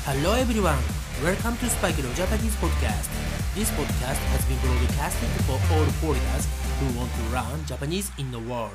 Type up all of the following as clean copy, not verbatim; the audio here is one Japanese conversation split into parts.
Hello everyone, welcome to Spike Leo Japanese Podcast. This podcast has been broadcasted for all foreigners who want to learn Japanese in the world.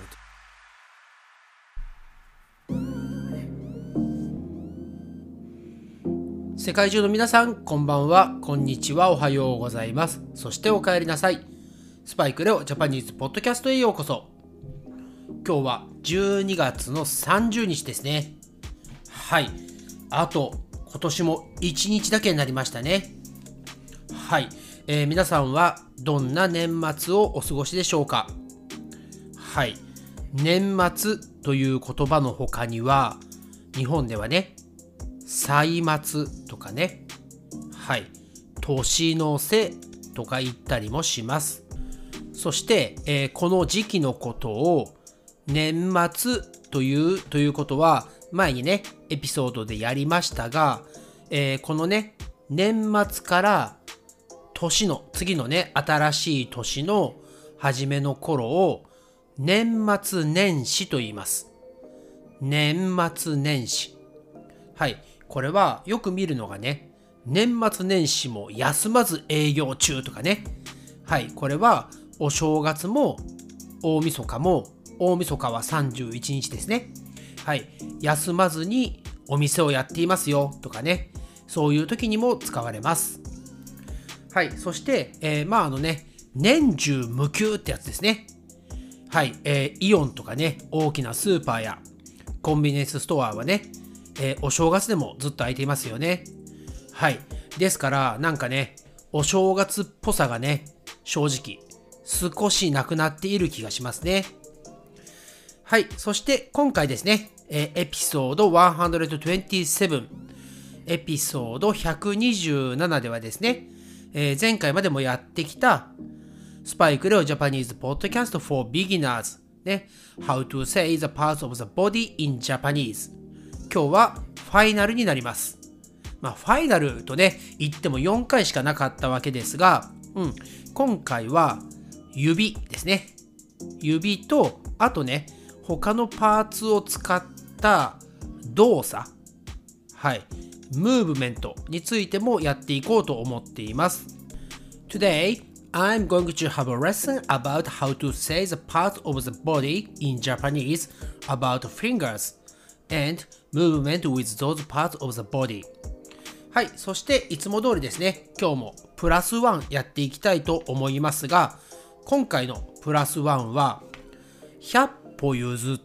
世界中の皆さん、こんばんは、こんにちは、おはようございます。そしてお帰りなさい。スパイクレオジャパニーズポッドキャストへようこそ。今日は12月の30日ですね。はい。あと、今年も1日だけになりましたね。はい。皆さんはどんな年末をお過ごしでしょうか。はい。年末という言葉の他には、日本ではね、歳末とかね、はい。年の瀬とか言ったりもします。そして、この時期のことを年末ということは前にねエピソードでやりましたが、このね年末から年の次のね新しい年の初めの頃を年末年始と言います。年末年始。はい、これはよく見るのがね、年末年始も休まず営業中とかね。はい、これはお正月も大晦日も、大晦日は31日ですね。はい、休まずにお店をやっていますよとかね、そういう時にも使われます。はい、そして、年中無休ってやつですね。はい、イオンとかね、大きなスーパーやコンビニエンスストアはね、お正月でもずっと開いていますよね。はい、ですからなんかね、お正月っぽさがね、正直少しなくなっている気がしますね。はい。そして今回ですね、エピソード127、エピソード127ではですね、前回までもやってきたスパイクレオジャパニーズポッドキャスト for beginners ね、How to say the parts of the body in Japanese。今日はファイナルになります。ファイナルとね、言っても4回しかなかったわけですが、今回は指ですね。指と、あとね、他のパーツを使った動作、はい、ムーブメントについてもやっていこうと思っています。Today, I'm going to have a lesson about how to say the parts of the body in Japanese about fingers and movement with those parts of the body。はい、そしていつも通りですね、今日もプラス1やっていきたいと思いますが、今回のプラス1は100歩譲って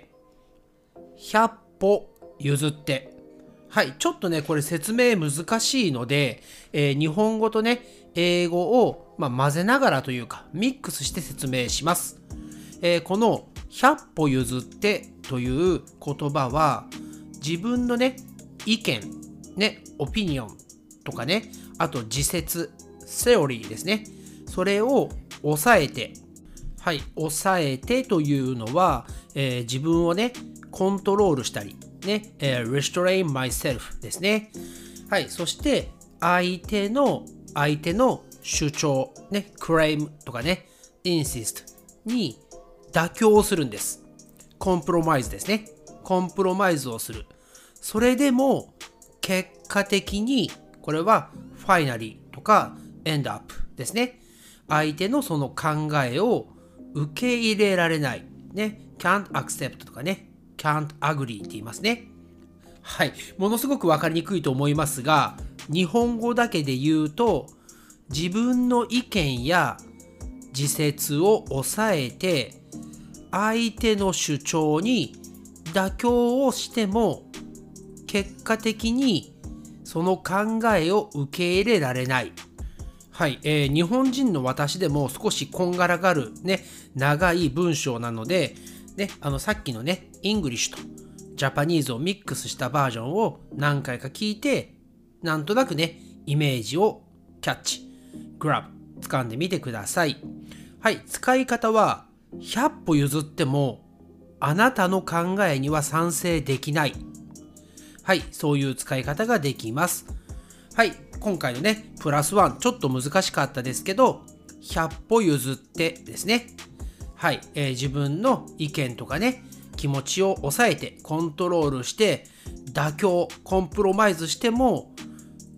、100歩譲って。はい、ちょっとね、これ説明難しいので、日本語とね、英語を、混ぜながらというか、ミックスして説明します。この100歩譲ってという言葉は、自分のね、意見、ね、オピニオンとかね、あと自説、セオリーですね。それを抑えて、はい、抑えてというのは、自分をね、コントロールしたり、ね、restrain myself ですね。はい、そして相手の主張、ね、claim とかね、insist に妥協するんです。コンプロマイズですね。コンプロマイズをする。それでも結果的にこれはファイナリーとかエンドアップですね。相手のその考えを受け入れられない。ね。can't accept とかね。can't agree って言いますね。はい。ものすごくわかりにくいと思いますが、日本語だけで言うと、自分の意見や自説を抑えて、相手の主張に妥協をしても、結果的にその考えを受け入れられない。はい、日本人の私でも少しこんがらがるね、長い文章なので、ね、さっきのね、イングリッシュとジャパニーズをミックスしたバージョンを何回か聞いて、なんとなくね、イメージをキャッチ、グラブ、掴んでみてください。はい、使い方は、100歩譲っても、あなたの考えには賛成できない。はい、そういう使い方ができます。はい、今回のね、プラス1、ちょっと難しかったですけど、100歩譲ってですね。はい、自分の意見とかね、気持ちを抑えて、コントロールして、妥協、コンプロマイズしても、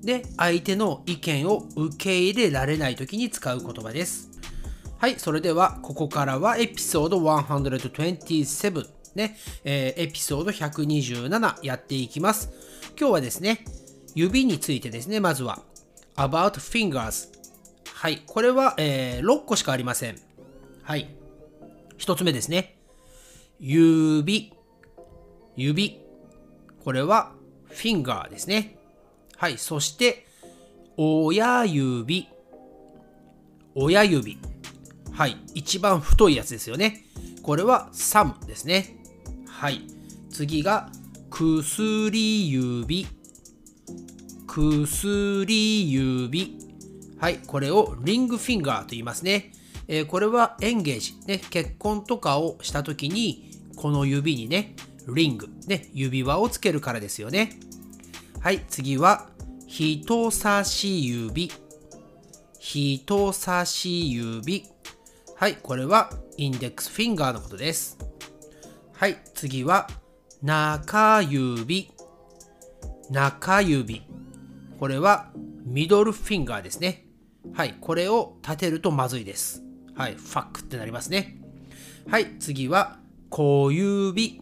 で、相手の意見を受け入れられないときに使う言葉です。はい、それではここからはエピソード127ね、エピソード127やっていきます。今日はですね、指についてですね、まずは about fingers。はい、これは、6個しかありません。はい、1つ目ですね。指。これは finger ですね。はい、そして親指。はい、一番太いやつですよね。これは thumb ですね。はい、次が薬指。はい、これをリングフィンガーと言いますね。これはエンゲージ、ね、結婚とかをしたときに、この指にね、リング、ね、指輪をつけるからですよね。はい、次は人差し指。はい、これはインデックスフィンガーのことです。はい、次は中指。これはミドルフィンガーですね。はい、これを立てるとまずいです。はい、ファックってなりますね。はい、次は小指。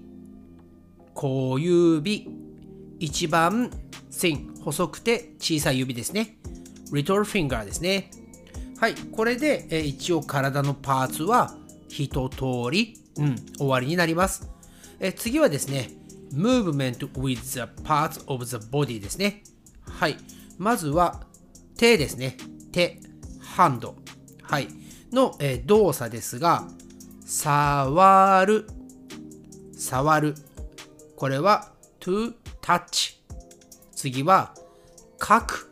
一番細くて小さい指ですね。リトルフィンガーですね。はい、これで、一応体のパーツは一通り、終わりになります。次はですね、movement with the parts of the body ですね。はい、まずは手ですね。ハンド、はい、の、動作ですが、触る。これは to touch。次は書く。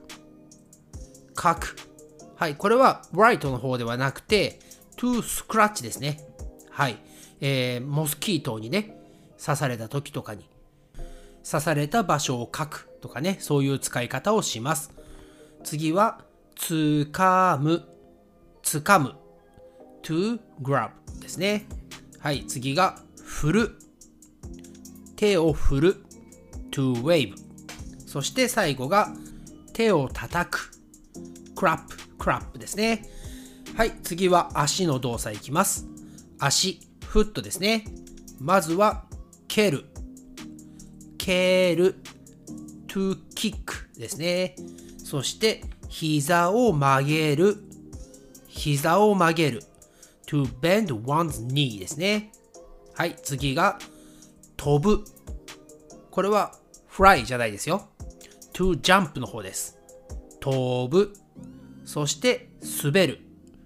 はい、これは write の方ではなくて to scratch ですね。はい、モスキートにね、刺された時とかに刺された場所を書くとかね、そういう使い方をします。次はつかむ。to grab ですね。はい、次が振る。手を振る。to wave。そして最後が手を叩く。クラップですね。はい、次は足の動作いきます。足、フットですね。まずは蹴る。to kick ですね。そして膝を曲げる。to bend one's knee ですね。はい、次が飛ぶ。これは fly じゃないですよ。to jump の方です。飛ぶ。そして滑る。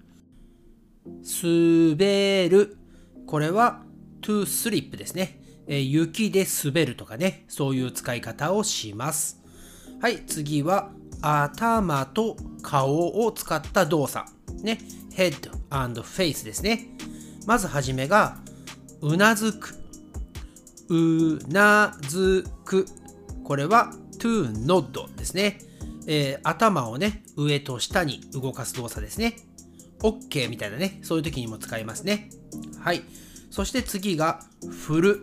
これは to slip ですね。雪で滑るとかね、そういう使い方をします。はい、次は頭と顔を使った動作。ね、head and face ですね。まずはじめがうなずく。これは to nod ですね。頭をね、上と下に動かす動作ですね。OK みたいなね、そういう時にも使いますね。はい。そして次が振る。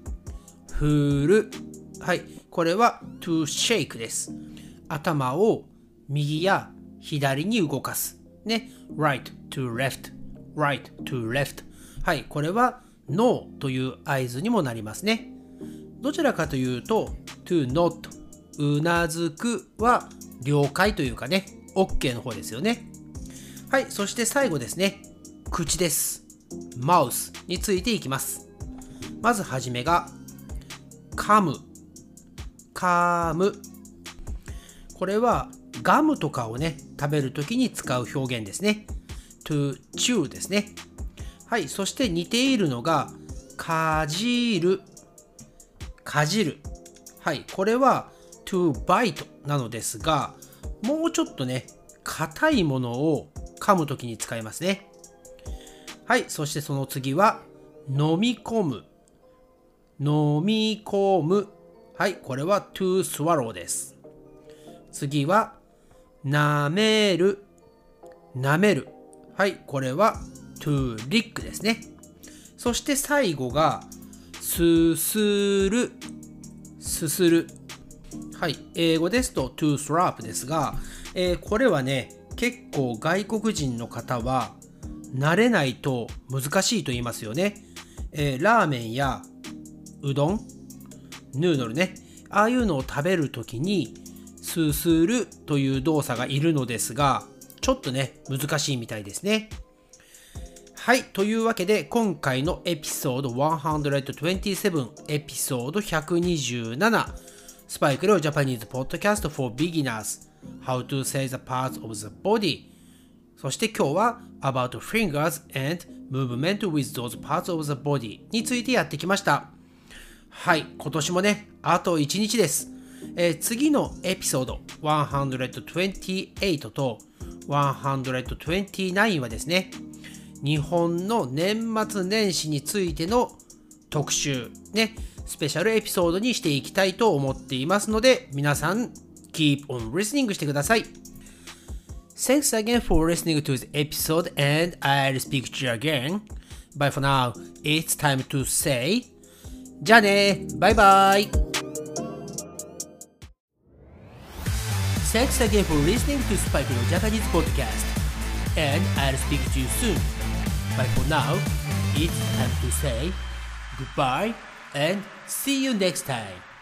はい。これは to shake です。頭を右や左に動かす。ね。right to left。はい。これは No という合図にもなりますね。どちらかというと to nod。うなずくは了解というかね、OK の方ですよね。はい、そして最後ですね、口です。マウスについていきます。まずはじめが噛む。これはガムとかをね、食べるときに使う表現ですね。to chew ですね。はい、そして似ているのがかじる。はい、これはto bite なのですが、もうちょっとね、硬いものを噛むときに使いますね。はい、そしてその次は飲み込む。はい、これは to swallow です。次は舐める。はい、これは to lick ですね。そして最後がすする。 はい、英語ですと to slap ですが、これはね、結構外国人の方は慣れないと難しいと言いますよね。ラーメンやうどん、ヌードルね、ああいうのを食べるときにすするという動作がいるのですが、ちょっとね、難しいみたいですね。はい、というわけで今回のエピソード127、エピソード127、スパイクレオジャパニーズポッドキャスト for beginners How to say the parts of the body、 そして今日は About fingers and movement with those parts of the body についてやってきました。はい、今年もね、あと1日です。次のエピソード128と129はですね、日本の年末年始についての特集ね、スペシャルエピソードにしていきたいと思っていますので、皆さん keep on listening してください。 Thanks again for listening to this episode and I'll speak to you again. But for now, it's time to say じゃあね、バイバイ。 Thanks again for listening to Spikeの Japanese podcast and I'll speak to you soon.But for now, it's time to say goodbye and see you next time.